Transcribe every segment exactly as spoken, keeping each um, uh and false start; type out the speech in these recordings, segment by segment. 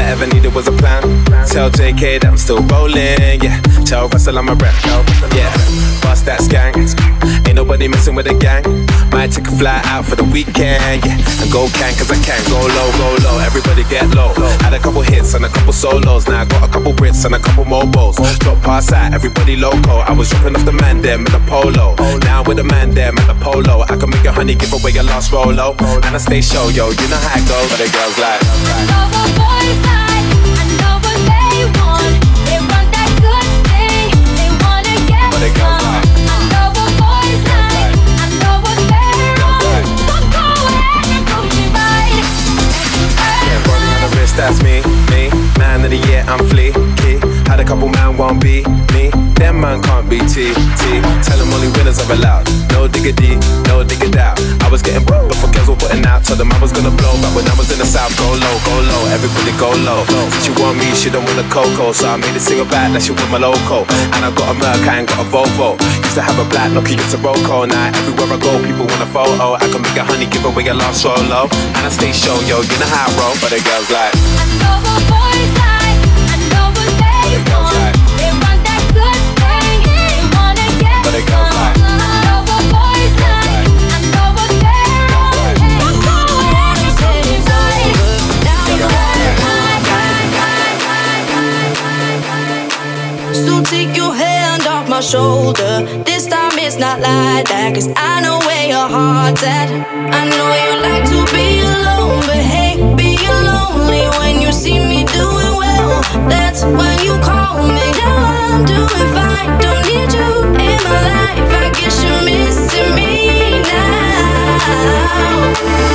I ever needed was a plan. Tell J K that I'm still rolling, yeah. Tell Russell I'm a rep, yeah. Bust that skank. Ain't nobody messing with the gang. Might take a fly out for the weekend, yeah. And go can, cause I can. Go low, go low, everybody get low. Had a couple hits and a couple solos. Now I got a couple Brits and a couple mobiles. Drop past out, everybody loco. I was dropping off the man there with the polo. Now with the man there at the polo. I can make a honey give away your last rolo. And I stay show, yo, you know how it goes. But the girls like I know what boys like, I know what they want. They want that good thing, they wanna get But the girls some. like I know what boys like, I know what they're on. So go ahead and prove me right. Yeah, running on the wrist, that's me, me. Man of the year, I'm fleeky. Had a couple man won't be me. Them man can't be T, T. Tell them only winners are allowed. No diggity, no diggity out. I was getting broke before girls were putting out. Told them I was gonna blow, but when I was in the south, go low, go low. Everybody go low. She want me, she don't want a cocoa. So I made a single back that she want my loco. And I got a Merc, I ain't got a Volvo. Used to have a black Nokia, it's a Roco. Now everywhere I go, people want a photo. I can make a honey, give away a last solo. And I stay show, yo, you know how I roll. But the girls like I know what boys like, I know what they want. They want that good thing, they wanna get But the girls like I know what boys like, I know what they're on. So go ahead and say it's right. Now you got it. So take your hand off my shoulder. This time it's not like that, cause I know where your heart's at. I know you like to be alone, but hey, being lonely when you see me doing well, that's when you call me. Now I'm doing fine, don't need you in my life. I guess you're missing me now.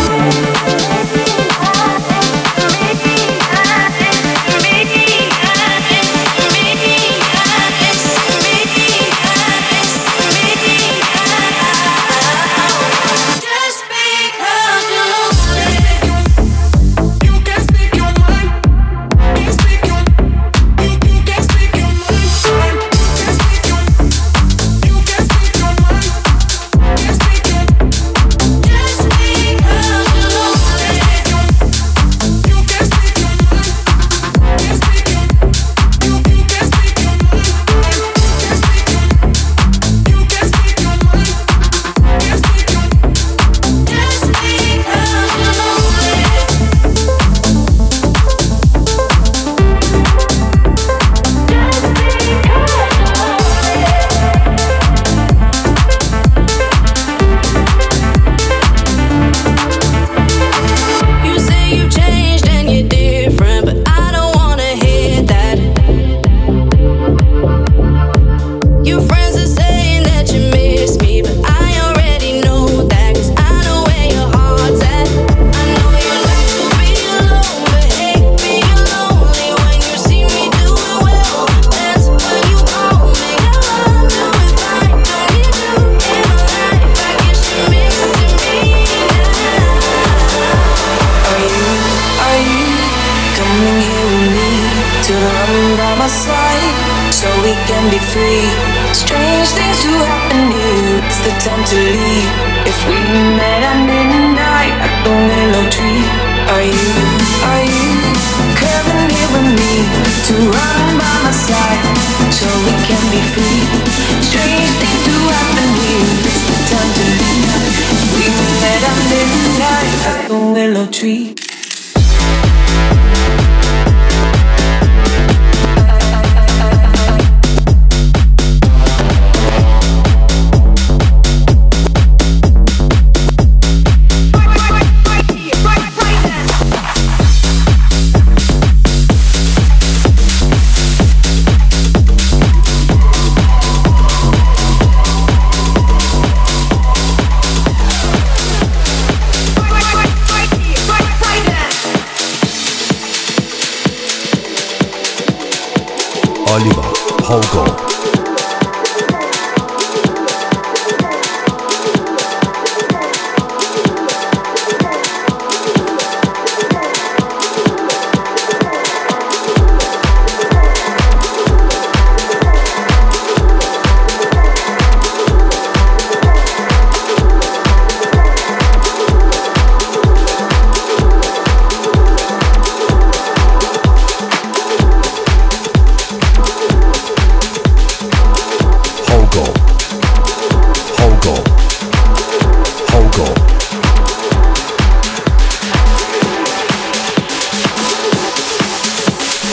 Oliver Hogo.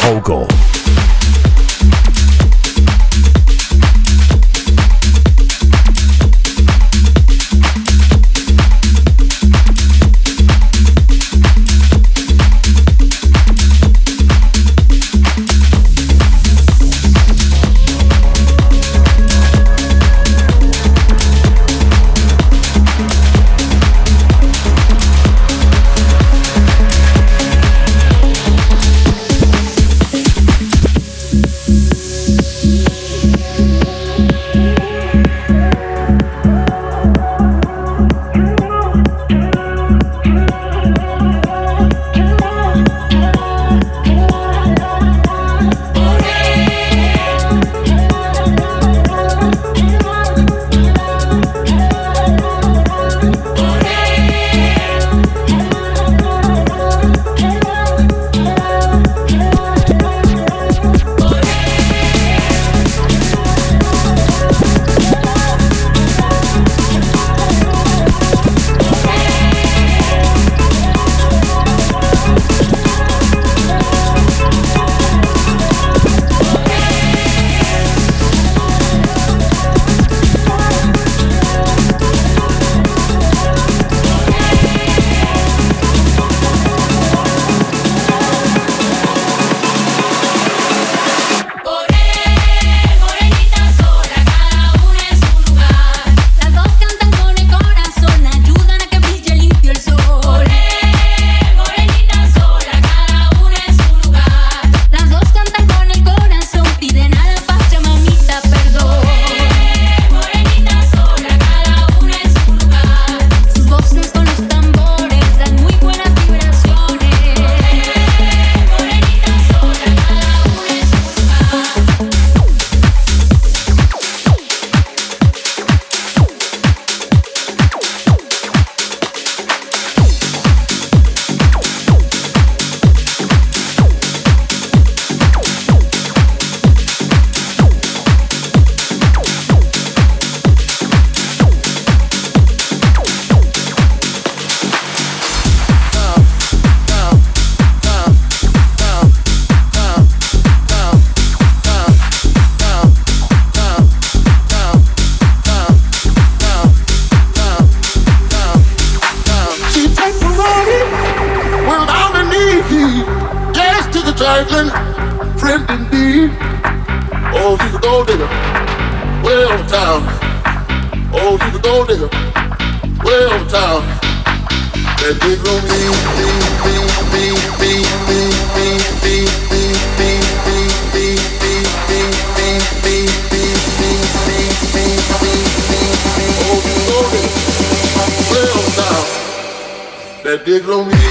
Hovgaard. trifling friend indeed. Oh, she's a gold digger, way over town. Oh, she's a gold digger, way over town. That big room, me, me, me, me, me, me, me, me, me, me, me, me, me, me, me, me, me, me, me. Oh, she's a gold digger, way over town. That big room, me.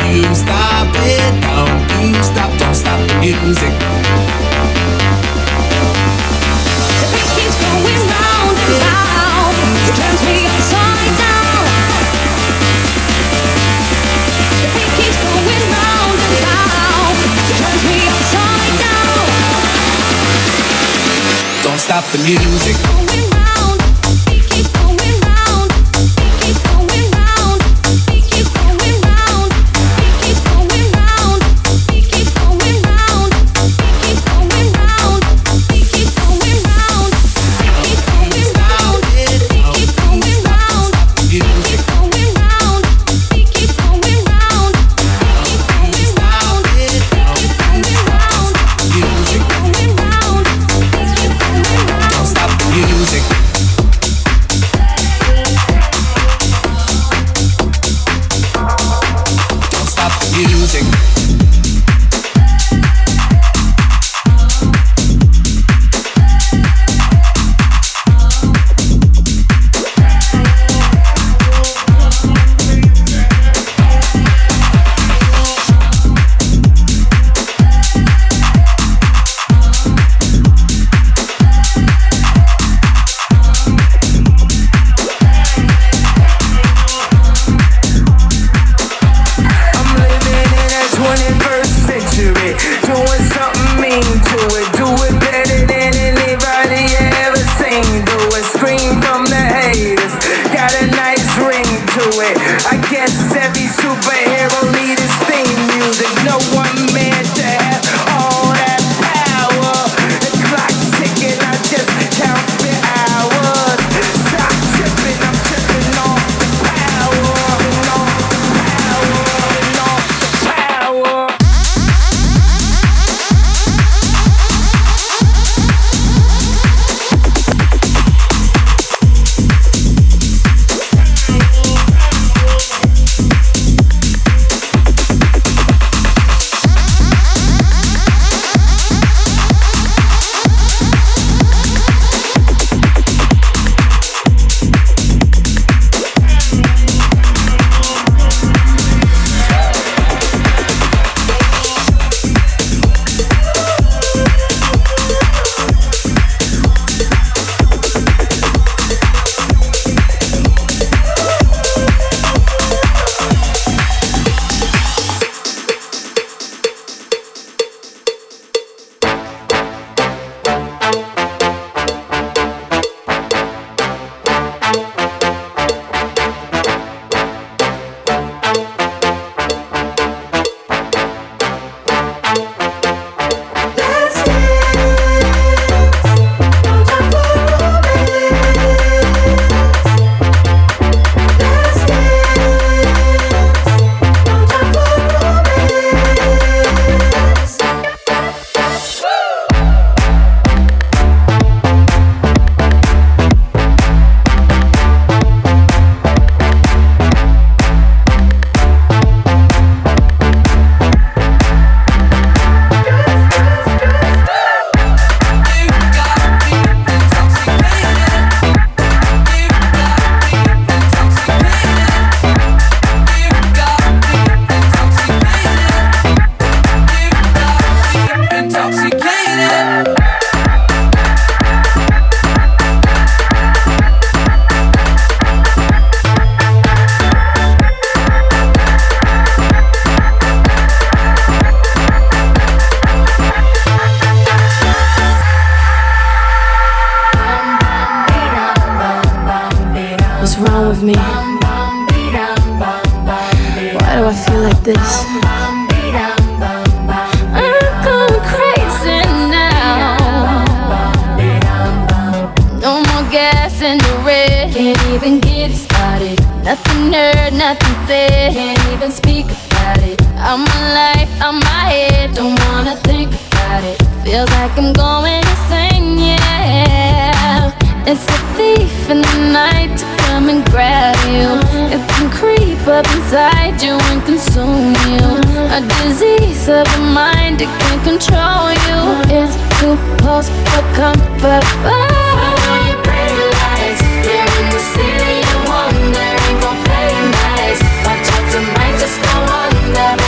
you stop it, don't you stop, don't stop the music. The beat keeps going round and round, it turns me upside down. The beat keeps going round and round, it turns me upside down. Don't stop the music. with me? Why do I feel like this? I'm going crazy now. No more gas in the red. Can't even get it started. Nothing heard, nothing said. Can't even speak about it. I'm my life, I'm my head. Don't wanna think about it. Feels like I'm going insane, yeah. It's a thief in the night to come and grab you. It can creep up inside you and consume you. A disease of the mind, it can control you. It's too close for comfort. Oh. All your pretty lights, here in the city of wonder, ain't gon' play nice. Watch out, tonight just go under.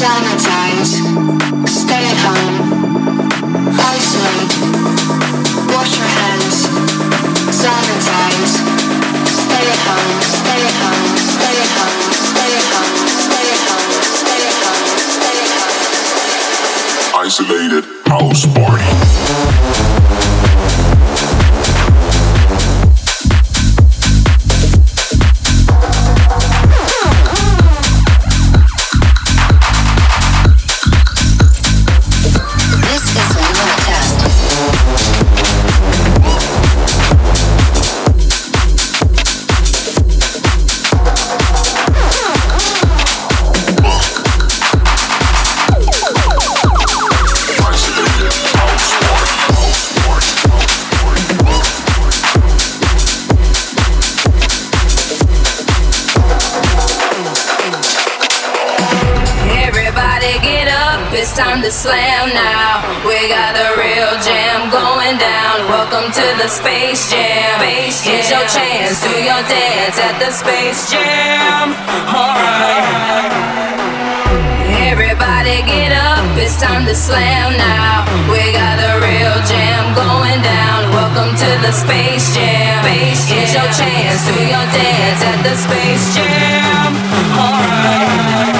Summertimes, stay at home, isolate, wash your hands. Summertimes, stay at home, stay at home, stay at home, stay at home, stay at home, stay at home, stay at home. Isolated house party. It's time to slam now. We got the real jam going down. Welcome to the Space Jam. Here's your chance, do your dance at the Space Jam. Alright. Everybody get up, it's time to slam now. We got the real jam going down. Welcome to the Space Jam. Here's your chance, do your dance at the Space Jam. Alright.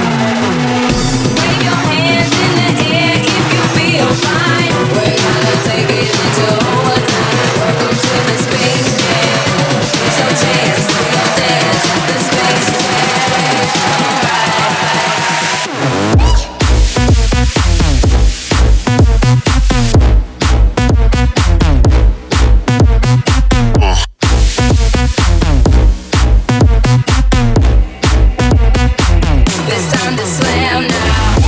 Fine. We're gonna take it into overtime. Welcome to the Space Jam. Here's your chance to your dance at the Space It's time to slam now.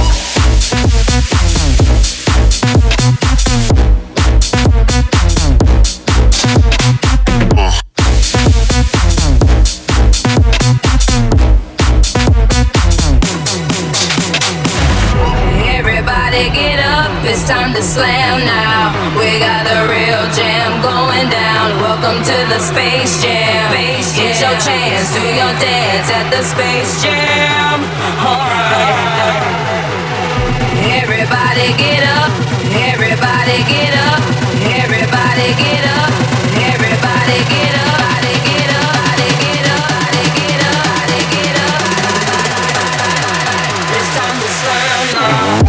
Get up, it's time to slam now. We got the real jam going down. Welcome to the Space Jam. Here's your chance, do your dance at the Space Jam. Alright. Everybody get up, everybody get up, everybody get up, everybody get up, body get up, body get up, body get up, body get up. It's time to slam now.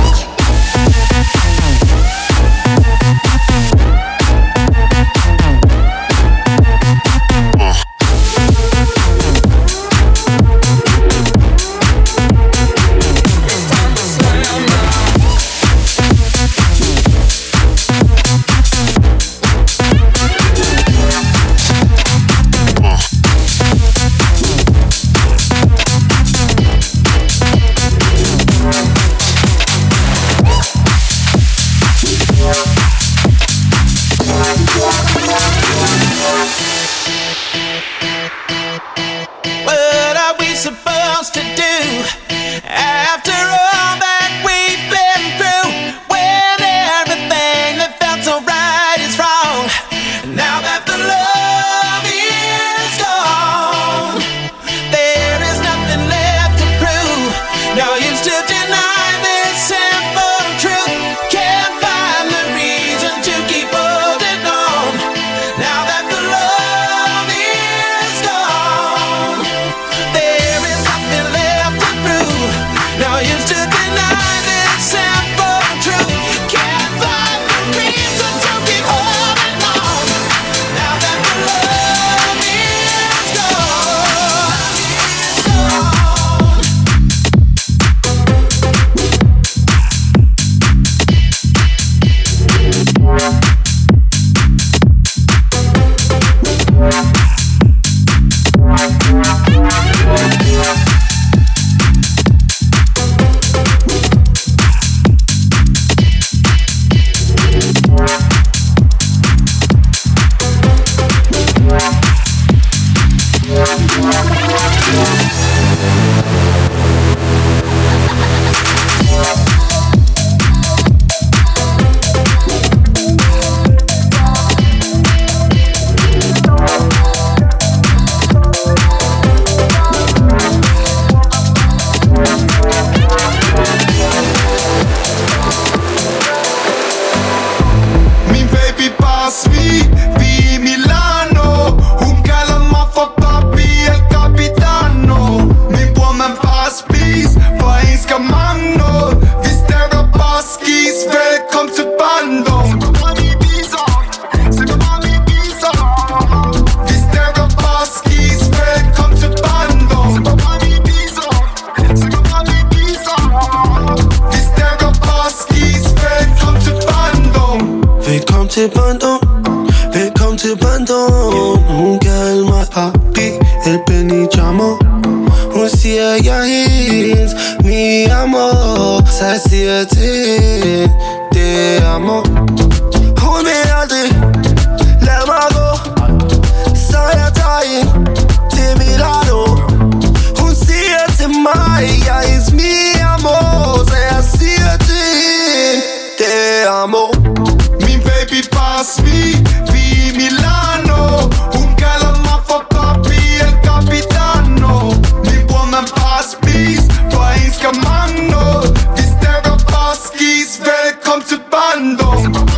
abandon. Hun kaldte mig papi, el Benijamo. Hun siger, jeg er hendes, mi amor. Så jeg siger til, det er amor. Hun vil aldrig lade mig gå, så jeg tager hende til Milano. Hun siger til mig, jeg er hendes, mi amor. Så jeg siger til hende, det er amor. Min baby bare smil, vi i Milano. Hun kalder mig for papi, el capitano. Min bror man bare spis, for en skal mango. Vi stakker bare skis, velkommen til barndom.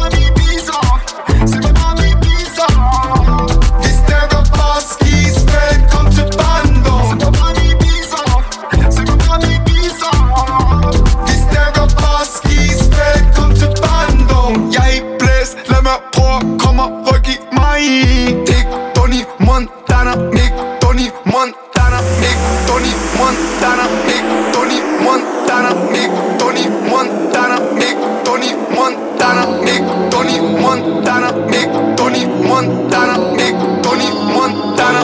Vi stakker bare skis, velkommen til barndom. Vi stakker bare skis, velkommen til barndom. Jeg er ikke blæst, lad mig prøve, kom og ryk i mig. Ikke Tony Montana, ikke Tony Montana, ikke Tony Montana, ikke Tony Montana, ikke Tony Montana, ikke Tony Montana, ikke Tony Montana, ikke Tony Montana, ikke Tony Montana,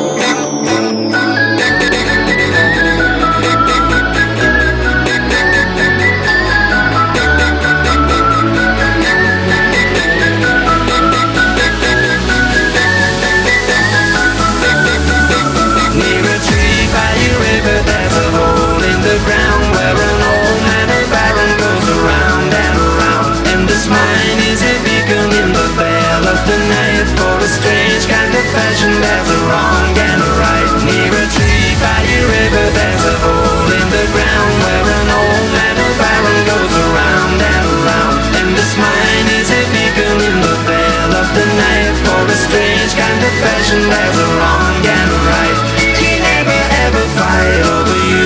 fashion, there's a wrong and a right. Near a tree by a river, there's a hole in the ground where an old man of iron goes around and around. And this mine is a beacon in the veil of the night. For a strange kind of fashion, there's a wrong and a right. He never ever fight over you.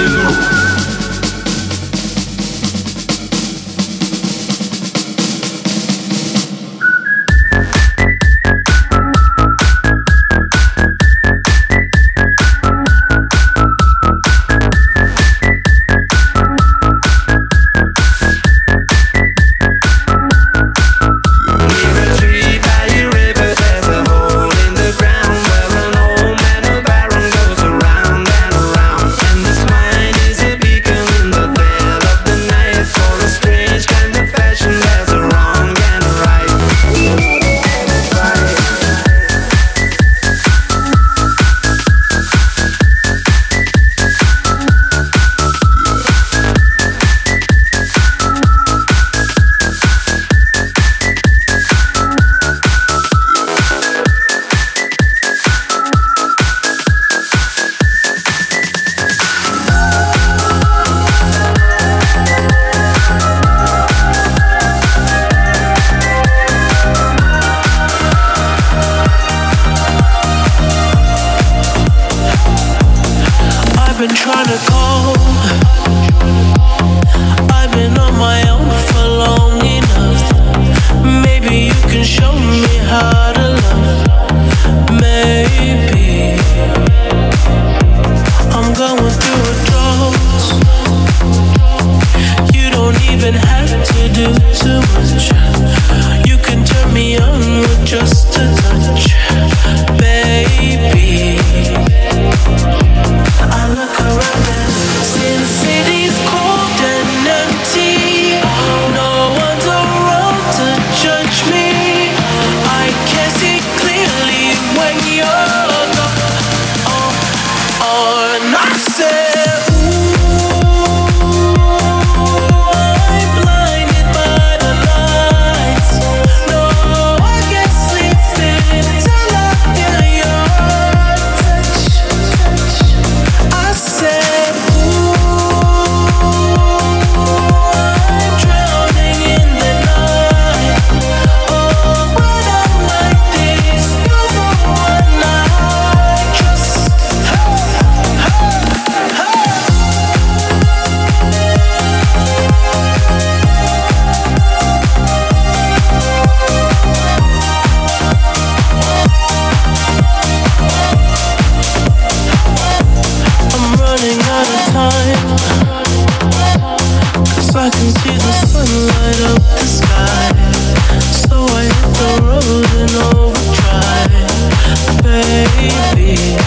baby.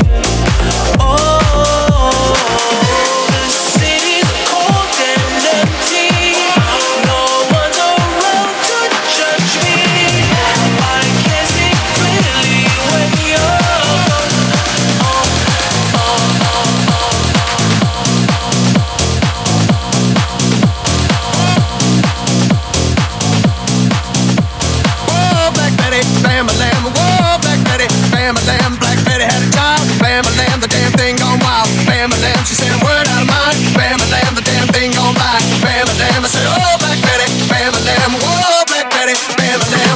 Oh, the city's cold and empty. No one's around to judge me. I can see clearly when you're gone. Oh, oh, oh, oh, oh. Whoa, Black Betty, bam-a-lam. Whoa, Black Betty, bam-a-lam. Black Betty had a child, bam-a-lam. The damn thing gone wild, bam-a-lam. She said a word out of mine, bam-a-lam. The damn thing gone by, bam-a-lam. I said, oh, Black Betty, bam-a-lam. Whoa, Black Betty, bam-a-lam.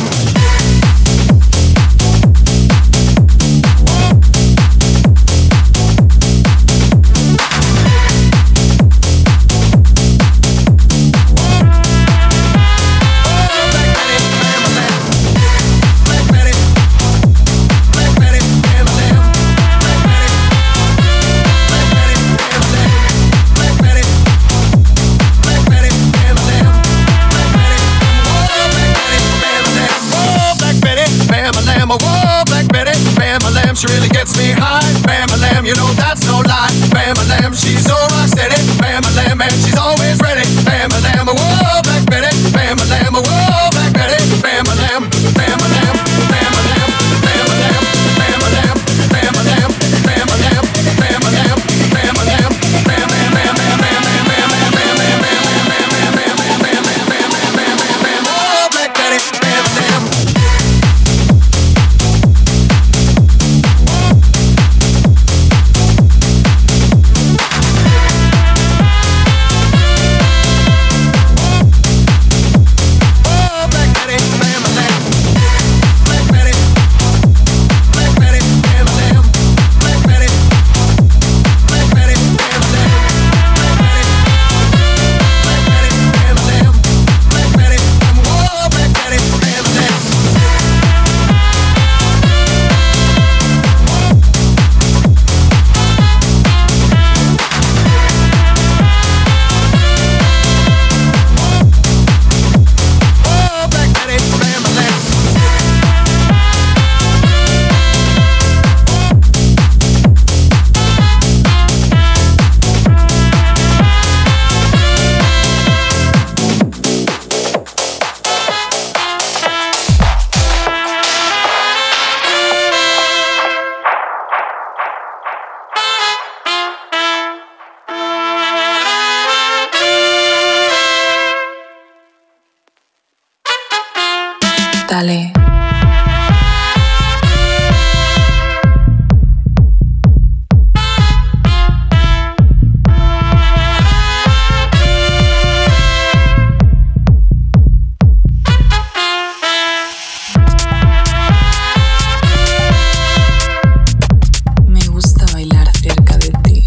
She really gets me high, bam-a-lam, you know that's no lie. Bam-a-lam, she's so rock steady, bam-a-lam, and she's always ready. Bam-a-lam, whoa, Black Betty, bam-a-lam, whoa, Black Betty, bam-a-lam, bam-a-lam, bam-a-lam, bam-a-lam, bam-a-lam, bam-a-lam, bam-a-lam, bam-a-lam, bam-a-lam, bam-a-lam, whoa, Black Betty, bam-a-lam. Dale. Me gusta bailar cerca de ti.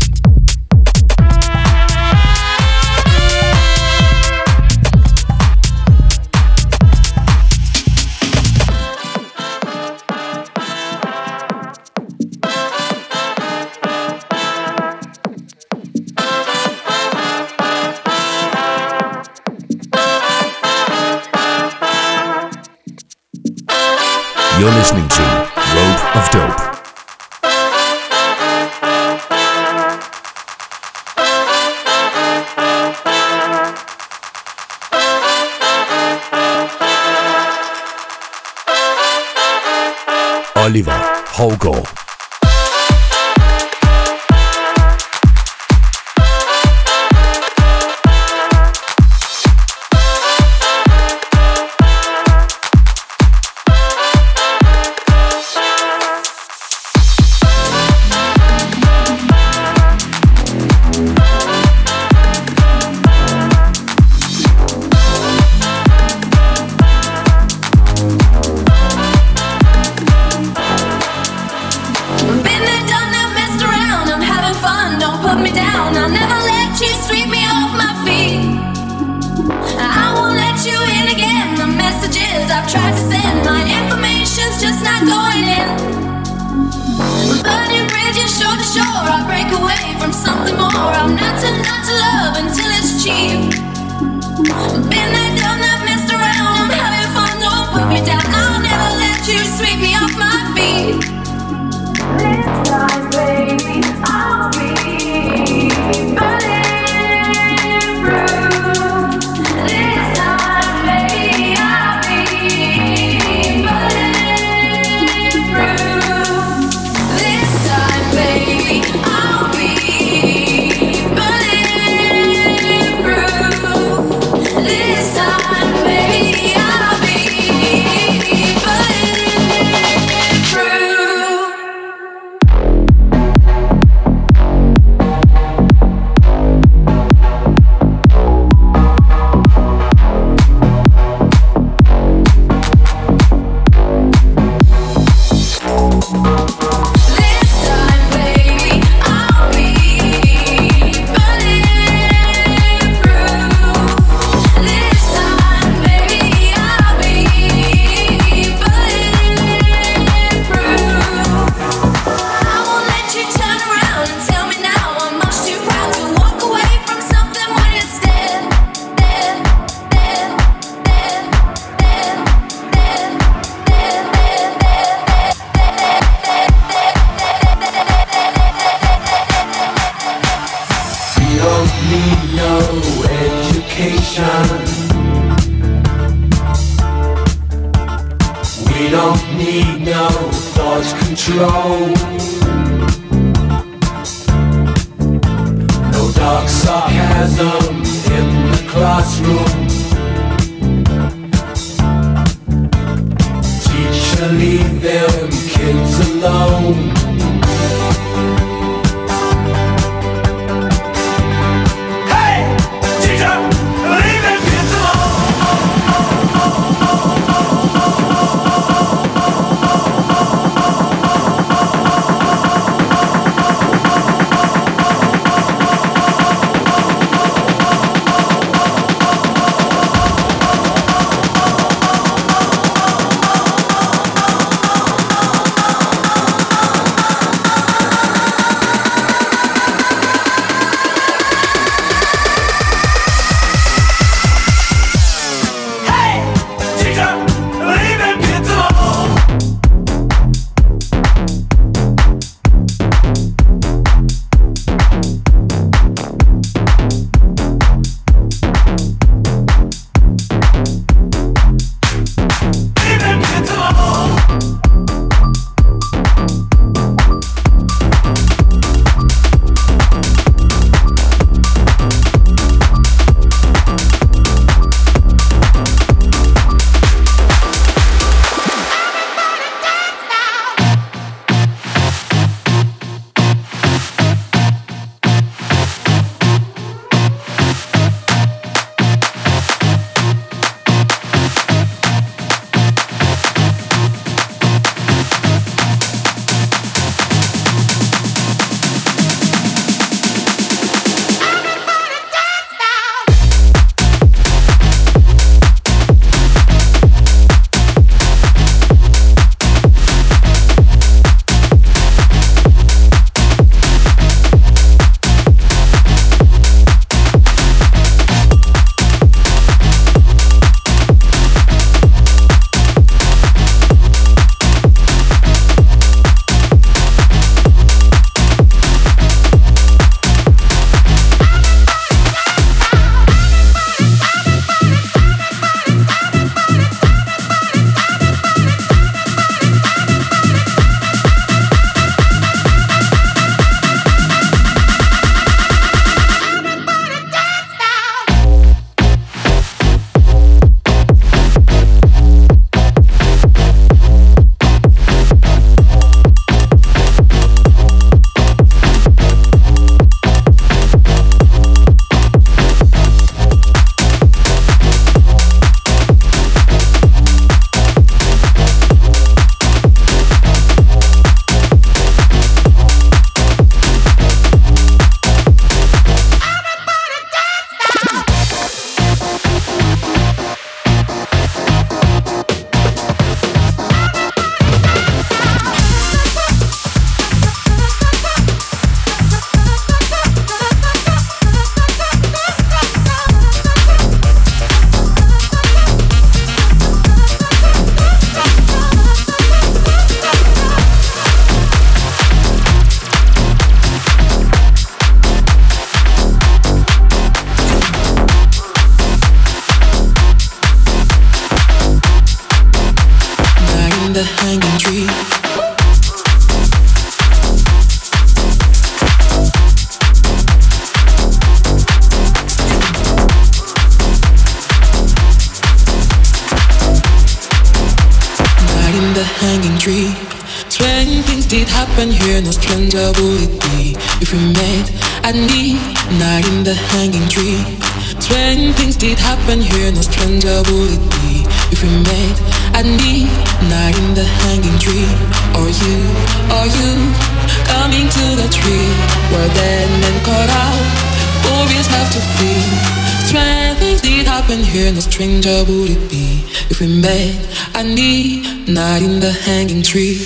You're listening to Road of Dope. Oliver Hougaard. destination. We don't need no thought control. No dark sarcasm in the classroom. Teacher, leave them kids alone. happen here, no stranger would it be if we met at midnight in the hanging tree. When things did happen here, no stranger would it be if we met at midnight in the hanging tree. Or you, or you, coming to the tree where dead men caught out, warriors have to flee. When things did happen here, no stranger would it be if we met at midnight in the hanging tree.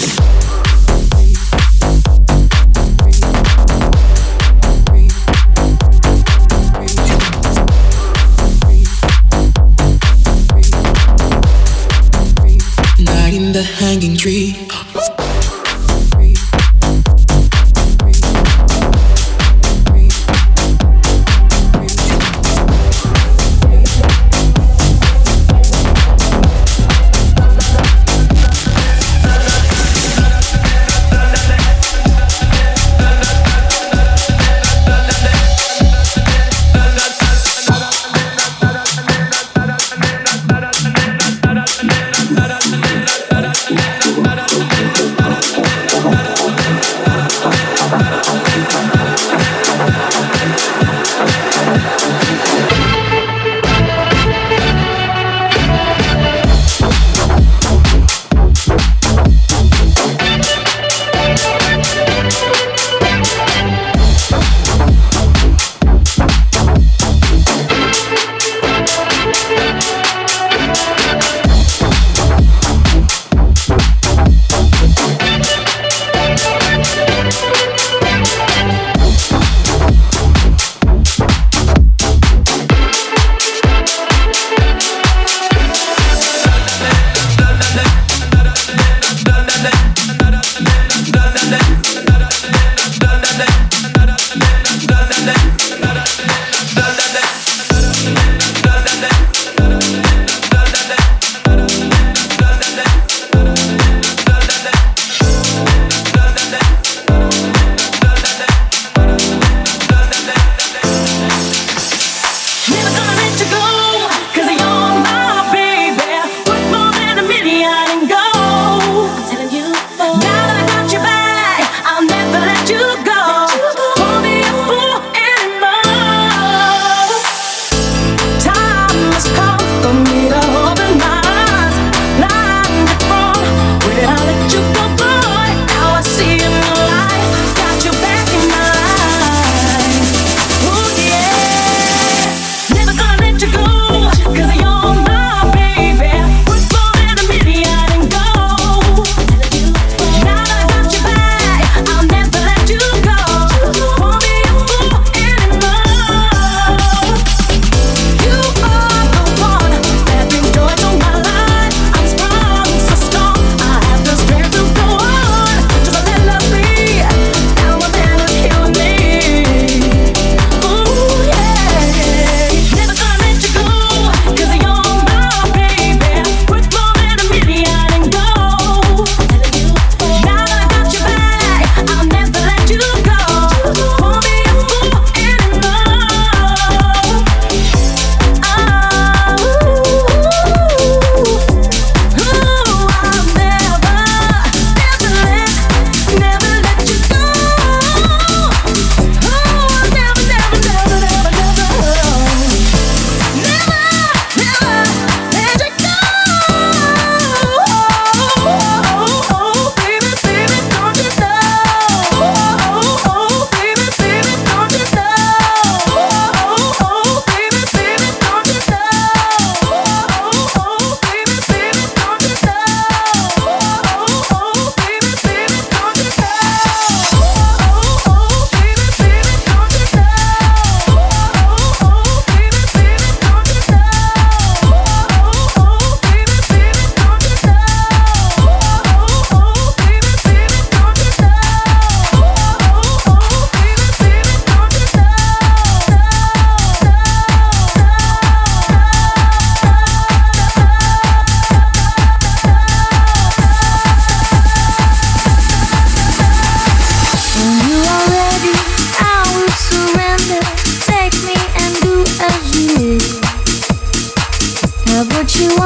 The hanging tree.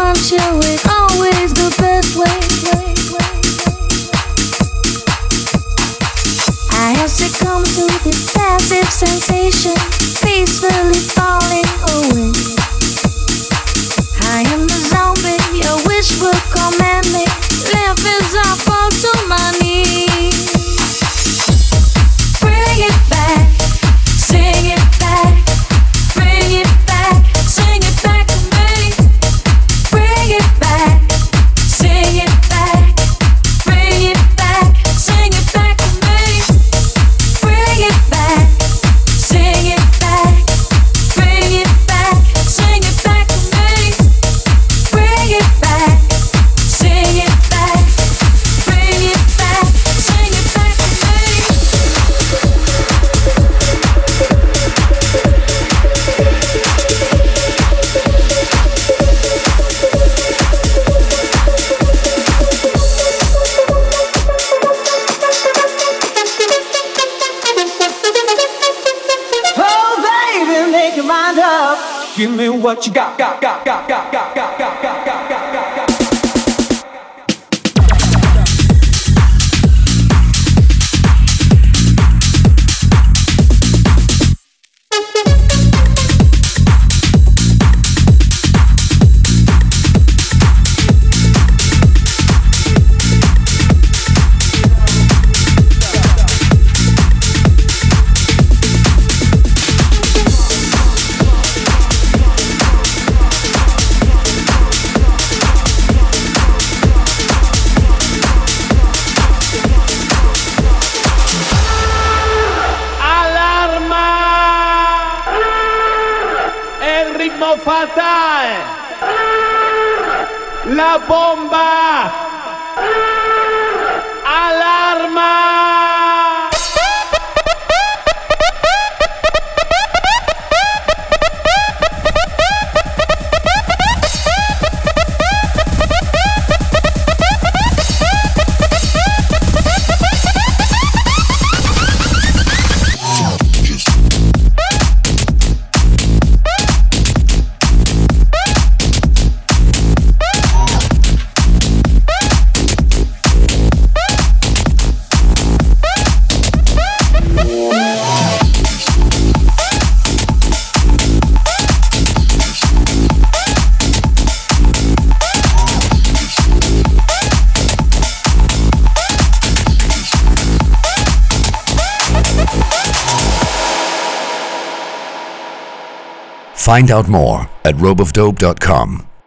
want you in always the best way. I have succumbed to this passive sensation, peacefully falling away. I am the zombie your wish will command me. Life as I fall to my knees. Bring it back, sing it back. Bring it back, sing it back to me. Bring it back, sing it back. Bring it back, sing it back to me. Bring it back, sing it back. Bring it back, sing it back to me. Bring it back, sing it back. Bring it back, sing it back to me. Oh, baby, make your mind up. Give me what you got, got, got, got, got, got, got, got, got, got, got, got, got. Fatale, la bomba, allarma. Find out more at rope of dope dot com.